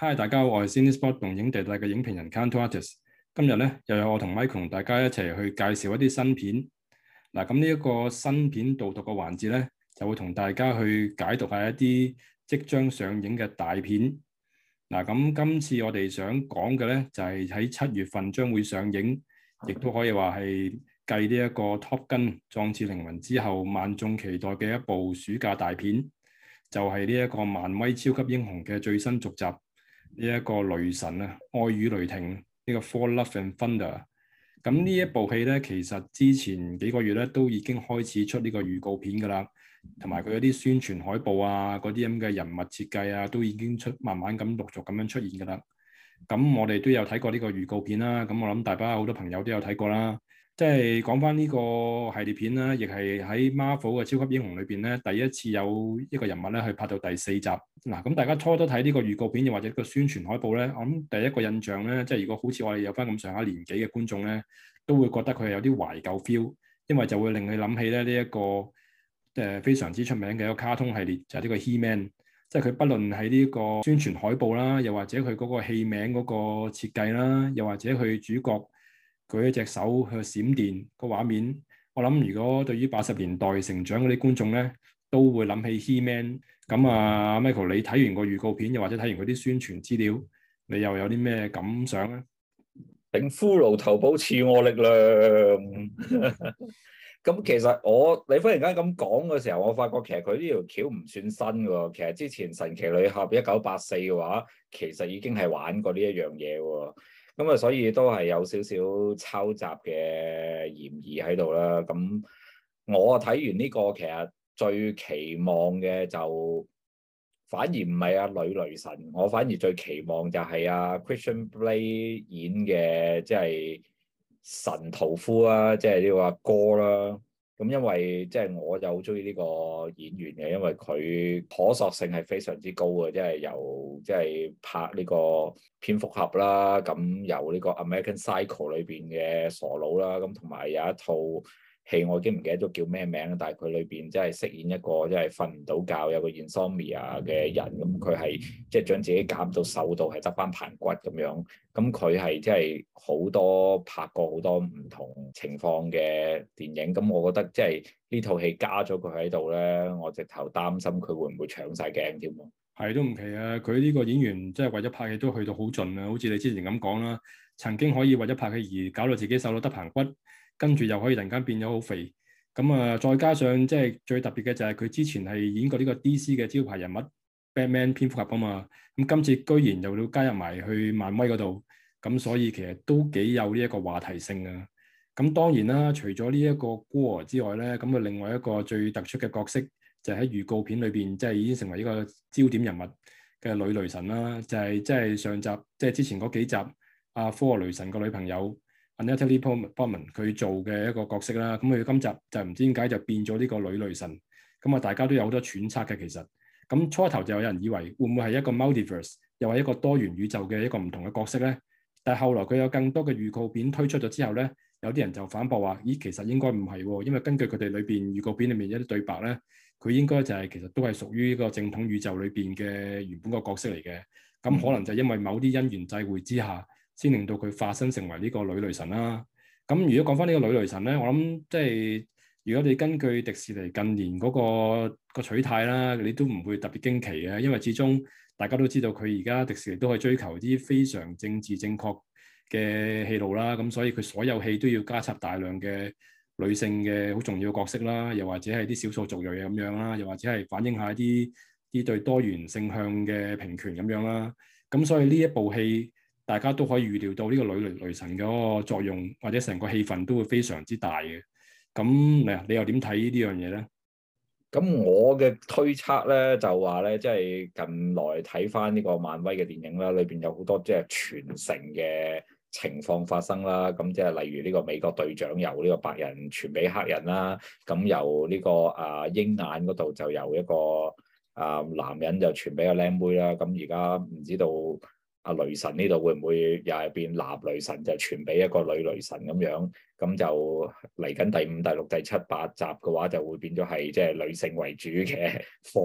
Hi，大家好，我係 Cinespot 動映地帶嘅影評人 Kantorates。今日咧又有我同 Michael 同大家一齊去介紹一啲新片。嗱，咁呢一個新片導讀嘅環節咧，就會同大家去解讀下一啲即將上映嘅大片。嗱，咁今次我哋想講嘅咧，就係喺7月份將會上映，亦都可以話係繼呢一個 Top Gun 壯志凌雲之後，萬眾期待嘅一部暑假大片，就係呢一個漫威超級英雄嘅最新續集。呢一個雷神啊，愛與雷霆呢個 Thor Love and Thunder。咁呢一部戲咧，其實之前幾個月咧都已經開始出呢個預告片㗎啦，同埋佢有啲宣傳海報啊，嗰啲咁嘅人物設計啊，都已經慢慢咁陸續咁樣出現㗎啦。咁我哋都有睇過呢個預告片啦，咁我諗大家好多朋友都有睇過啦。即係講翻呢個系列片啦，亦係喺 Marvel 嘅超級英雄裏邊咧，第一次有一個人物咧去拍到第4集。嗱，咁大家初都睇呢個預告片，又或者個宣傳海報咧，我諗第一個印象咧，即係如果好似我哋有翻咁上下年紀嘅觀眾咧，都會覺得佢係有啲懷舊 feel，因為就會令你諗起咧呢一個非常之出名嘅一個卡通系列，就係呢個 He-Man。即係佢不論喺呢個宣傳海報啦，又或者佢嗰個戲名嗰個設計啦，又或者佢主角舉一隻手去閃電個畫面，我諗如果對於80年代成長嗰啲觀眾咧，都會諗起 He-Man。咁啊，Michael，你睇完個預告片，又或者睇完佢啲宣傳資料，你又有啲咩感想咧？ 頂骷髏頭保賜我力量。咁其實你忽然間咁講嘅時候，我發覺其實佢呢條橋唔算新喎。其實之前神奇女俠1984嘅話，其實已經係玩過呢一樣嘢喎。咁啊，所以都係有少少抄襲嘅嫌疑喺度啦。咁我睇完呢個，其實最期望嘅就反而唔係阿女雷神，我反而最期望就係阿 Christian Bale 演嘅，即係神屠夫啦，即係呢個阿哥啦。咁因為即係我就好中意呢個演員嘅，因為佢可塑性係非常之高嘅，即係由即係拍呢個蝙蝠俠啦，咁由呢個 American Psycho 裏邊嘅傻佬啦，咁同埋有一套戲我已經唔記得咗叫咩名，但係佢裏邊即係飾演一個即係瞓唔到覺有個 insomnia 嘅人，咁佢係即係將自己減到瘦到係得翻棚骨咁樣，咁佢係即係好多拍過好多唔同情況嘅電影，咁我覺得即係呢套戲加咗佢喺度咧，我直頭擔心佢會唔會搶晒鏡添喎。 係都唔奇啊！佢呢個演員即係為咗拍戲都去到好盡啊，好似你之前咁講啦，曾經可以為咗拍戲而搞到自己瘦到得棚骨，跟住又可以突然間變咗好肥。咁啊，再加上即係最特別嘅就係佢之前係演過呢個 DC 嘅招牌人物 Batman 蝙蝠俠啊嘛。咁今次居然又要加入埋去漫威嗰度，咁所以其實都幾有呢一個話題性啊。咁當然啦，除咗呢一個孤兒之外咧，咁啊另外一個最突出嘅角色，就喺預告片裏邊，即係已經成為一個焦點人物嘅女雷神啦。就係即係上集，即係之前嗰幾集，阿科爾雷神個女朋友 Natalie Portman 佢做嘅一個角色啦。咁佢今集就唔知點解就變咗呢個女雷神。咁啊，大家都有好多揣測嘅其實。咁初頭就有人以為會唔會係一個 multiverse，又係一個多元宇宙嘅一個唔同嘅角色咧？但係後來佢有更多嘅預告片推出咗之後咧，有啲人就反駁話：咦，其實應該唔係喎，因為根據佢哋裏邊預告片裏面一啲對白咧。佢應該就係其實都係屬於呢個正統宇宙裏邊嘅原本個角色嚟嘅，咁可能就因為某啲因緣際會之下，先令到佢化身成為呢個女雷神啦。咁如果講翻呢個女雷神咧，我諗即係如果你根據迪士尼近年嗰個取態啦，你都唔會特別驚奇嘅，因為始終大家都知道佢而家迪士尼都係追求啲非常政治正確嘅戲路啦，咁所以佢所有戲都要加插大量嘅女性嘅好重要嘅角色啦，又或者係啲少數族裔咁樣啦，又或者係反映下啲對多元性向嘅平權咁樣啦。咁所以呢一部戲，大家都可以預料到呢個女雷神嗰個作用，或者成個氣氛都會非常之大嘅。咁你又點睇呢樣嘢咧？ 咁我嘅推測咧就話咧，即係近來睇翻呢個漫威嘅電影啦，裏邊有好多即係傳承嘅情況發生啦。咁即係例如呢個美國隊長由呢個白人傳俾黑人啦，咁由呢個鷹眼嗰度就由一個男人就傳俾個靚妹啦。咁而家唔知道阿雷神呢度會唔會又係變男雷神，就傳俾一個女雷神咁樣？咁就嚟緊第5、第6、第7、8集嘅話，就會變咗係即係女性為主嘅科啦。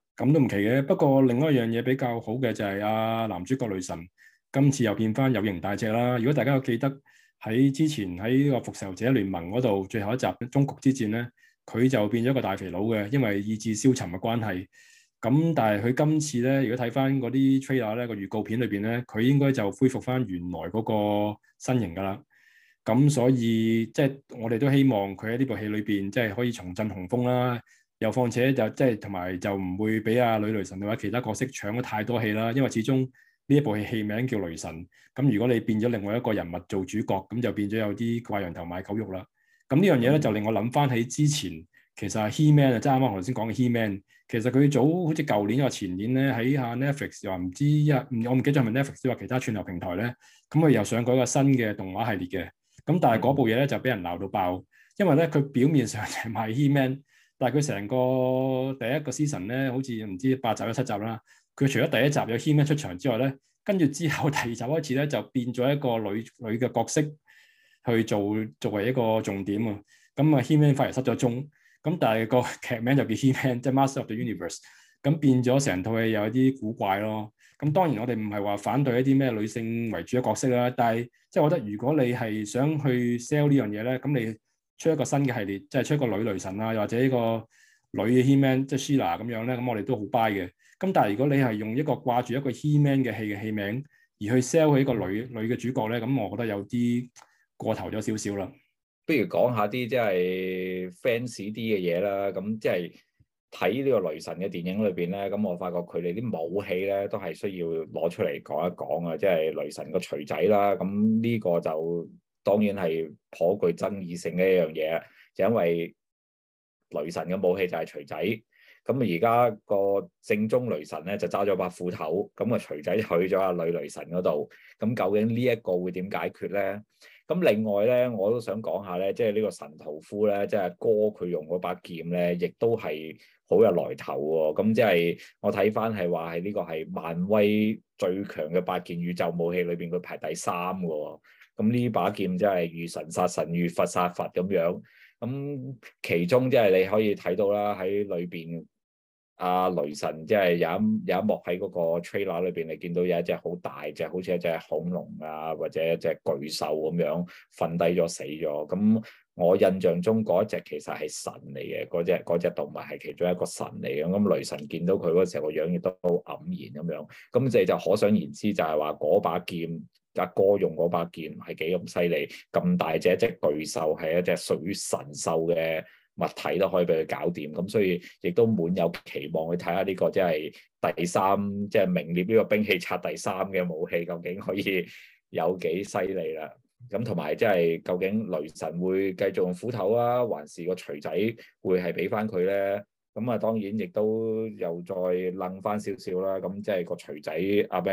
咁都唔奇嘅。不過另外一樣嘢比較好嘅就係男主角雷神今次又變翻有型大隻啦。如果大家有記得喺之前喺呢個復仇者聯盟嗰度最後一集終局之戰咧，佢就變咗個大肥佬嘅，因為意志消沉嘅關係。咁但係佢今次咧，如果睇翻嗰啲 trailer 咧，個預告片裏邊咧，佢應該就恢復翻原來嗰個身形㗎啦。咁所以即係我哋都希望佢喺呢部戲裏邊即係可以重振雄風啦。又況且就即係同埋就唔會俾女雷神或者其他角色搶咗太多戲啦。因為始終呢一部戲名叫雷神，咁如果你變咗另外一個人物做主角，咁就變咗有啲掛羊頭賣狗肉啦。咁呢樣嘢咧就令我諗翻起之前其實係 He-Man 啊，即係啱啱我頭先講嘅 He-Man。其實佢早好似舊年或前年咧喺下 Netflix 又話唔知我唔記得係咪 Netflix 或其他串流平台咧，咁佢又上過一個新嘅動畫系列嘅。咁但係嗰部嘢咧就俾人鬧到爆，因為咧佢表面上就係賣 He-Man，但係佢成個第一個 season 咧好似唔知8集有7集啦。佢除咗第一集有 He-Man 出場之外咧，跟住之後第二集開始咧就變咗一個女嘅角色去作為一個重點啊。咁啊 He-Man 反而失咗蹤。咁但係個劇名就叫 He-Man， 即係 Master of the Universe， 咁變咗成套戲有一啲古怪咯。咁當然我哋唔係話反對一啲咩女性為主嘅角色啦，但係即係我覺得如果你係想去 sell 呢樣嘢咧，咁你出一個新嘅系列，即係出一個女雷神啊，又或者呢個女嘅 He-Man， 即係 Sheila 咁樣咧，咁我哋都好 buy 嘅。咁但係如果你係用一個掛住一個 He-Man 嘅戲嘅戲名而去 sell 佢一個女嘅主角咧，咁我覺得有啲過頭咗少少啦。 不如講下啲即係 fans 啲嘅嘢啦，咁即係睇呢個雷神嘅電影裏邊咧，咁我發覺佢哋啲武器咧都係需要攞出嚟講一講啊，即係雷神個錘仔啦，咁呢個就當然係頗具爭議性嘅一樣嘢，就因為雷神嘅武器就係錘仔，咁而家個正宗雷神咧就揸咗把斧頭，咁個錘仔去咗阿女雷神嗰度，咁究竟呢一個會點解決咧？咁另外咧，我都想講下咧，即係呢個神屠夫咧，即係哥佢用嗰把劍咧，亦都係好有來頭喎。咁即係我睇翻係話係呢個係漫威最強嘅8件宇宙武器裏邊，佢排第3嘅喎。咁呢把劍真係遇神殺神，遇佛殺佛咁樣。咁其中即係你可以睇到啦，喺裏邊。雷神即係有一幕喺嗰個 trailer 裏邊，你見到有一隻好大隻，好似一隻恐龍啊，或者一隻巨獸咁樣瞓低咗死咗。咁我印象中嗰一隻其實係神嚟嘅，嗰隻動物係其中一個神嚟嘅。咁雷神見到佢嗰時候個樣亦都好黯然咁樣。咁你就可想而知，就係話嗰把劍阿哥用嗰把劍係幾咁犀利，咁大隻一隻巨獸係一隻屬於神獸嘅物體都可以俾佢搞掂，咁所以亦都滿有期望去睇下呢個即係第3，即係名列呢個兵器冊第3嘅武器究竟可以有幾犀利啦。咁同埋即係究竟雷神會繼續用斧頭啊，還是個錘仔會係俾翻佢咧？咁啊當然亦都又再楞翻少少啦。咁即係個錘仔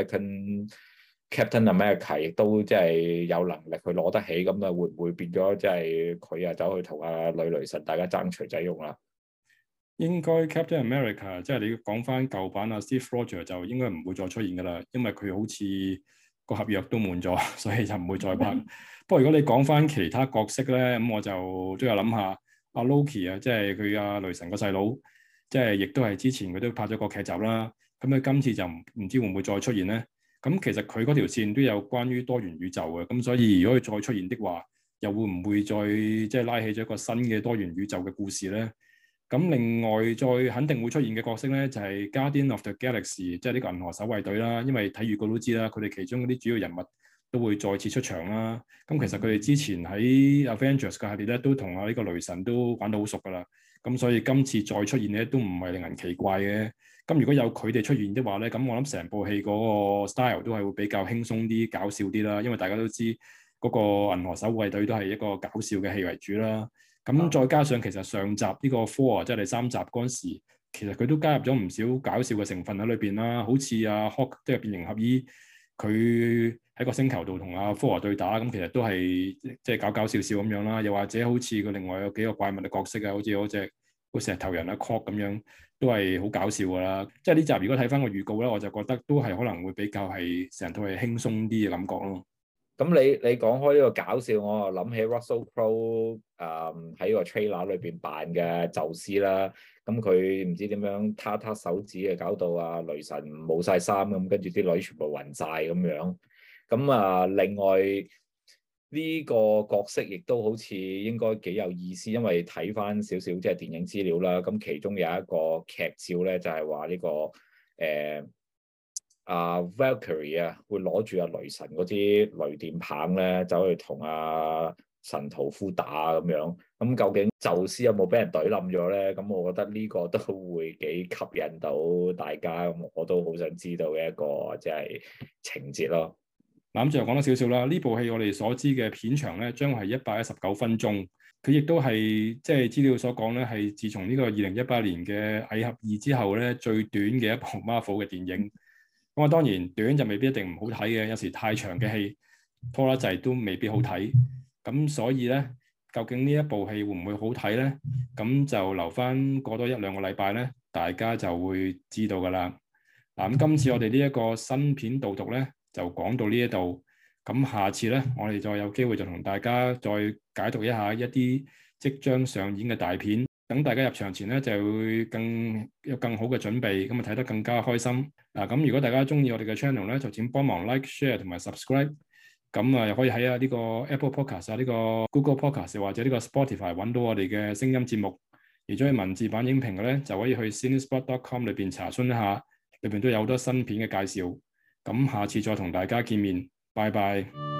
Captain America 亦都即係有能力去攞得起，咁啊會唔會變咗即係佢啊走去同阿女雷神大家爭錘仔用啦？ 應該 Captain America 即係你講翻舊版啊 Steve Rogers 就應該唔會再出現噶啦，因為佢好似個合約都滿咗，所以就唔會再拍。不過如果你講翻其他角色咧，咁我就都有諗下阿 Loki 啊，即係佢阿雷神個細佬，即係亦都係之前佢都拍咗個劇集啦。咁佢今次就唔知會唔會再出現咧？咁其實佢嗰條線都有關於多元宇宙嘅，咁所以如果佢再出現的話，又會唔會再即係拉起咗一個新嘅多元宇宙嘅故事咧？咁另外再肯定會出現嘅角色咧，就係 Guardian of the Galaxy，即係呢個銀河守衛隊啦。因為睇預告都知啦，佢哋其中嗰啲主要人物都會再次出場啦。咁其實佢哋之前喺 Avengers 嘅系列咧，都同呢個雷神都玩到好熟噶啦。咁所以今次再出現咧，都唔係令人奇怪嘅。咁如果有佢哋出現的話咧，咁我諗成部戲嗰個 style 都係會比較輕鬆啲、搞笑啲啦。因為大家都知嗰個銀河守衛隊都係一個搞笑嘅戲為主啦。咁再加上其實上集呢個 Thor 即係第3集嗰陣時，其實佢都加入咗唔少搞笑嘅成分喺裏邊啦。好似阿 Hulk 即係變形俠醫，佢喺個星球度同阿 Thor 對打，咁其實都係即係搞笑咁樣啦。又或者好似佢另外有幾個怪物嘅角色啊，好似嗰隻個石頭人啊 Korg 咁樣，都係好搞笑噶啦。即係呢集如果睇翻個預告咧，我就覺得都係可能會比較係成套係輕鬆啲嘅感覺咯。 咁你講開呢個搞笑，我又諗起 Russell Crowe 喺個 trailer 裏邊扮嘅宙斯啦。咁佢唔知點樣撻手指啊，搞到啊雷神冇晒衫咁，跟住啲女全部暈晒咁樣。咁另外呢個角色亦都好似應該幾有意思，因為睇翻少少即係電影資料啦。咁其中有一個劇照咧，就係話呢個Valkyrie 啊，會攞住阿雷神嗰支雷電棒咧，走去同阿神屠夫打咁樣。咁究竟宙斯有冇俾人懟冧咗咧？咁我覺得呢個都會幾吸引到大家。咁我都好想知道嘅一個即係情節咯。 咁最後講多少少啦。呢部戲我哋所知嘅片長咧，將係119分鐘。佢亦都係即係資料所講咧，係自從呢個2018年嘅《蟻俠2》之後咧，最短嘅一部 Marvel 嘅電影。咁啊，當然短就未必一定唔好睇嘅，有時太長嘅戲拖得滯都未必好睇。咁所以咧，究竟呢一部戲會唔會好睇咧？咁就留翻過多1-2個禮拜咧，大家就會知道㗎啦。嗱，咁今次我哋呢一個新片導讀咧，就講到呢一度。咁下次咧，我哋再有機會就同大家再解讀一下一啲即將上演嘅大片。等大家入場前咧，就會有更好嘅準備，咁啊睇得更加開心。咁如果大家中意我哋嘅 channel 咧，就請幫忙 like、share 同埋 subscribe。咁又可以喺呢個 Apple Podcast 呢個 Google Podcast 或者呢個 Spotify 揾到我哋嘅聲音節目。而中意文字版影評嘅咧，就可以去 Cinespot.com 裏邊查詢一下，裏邊都有好多新片嘅介紹。咁下次再同大家見面，拜拜。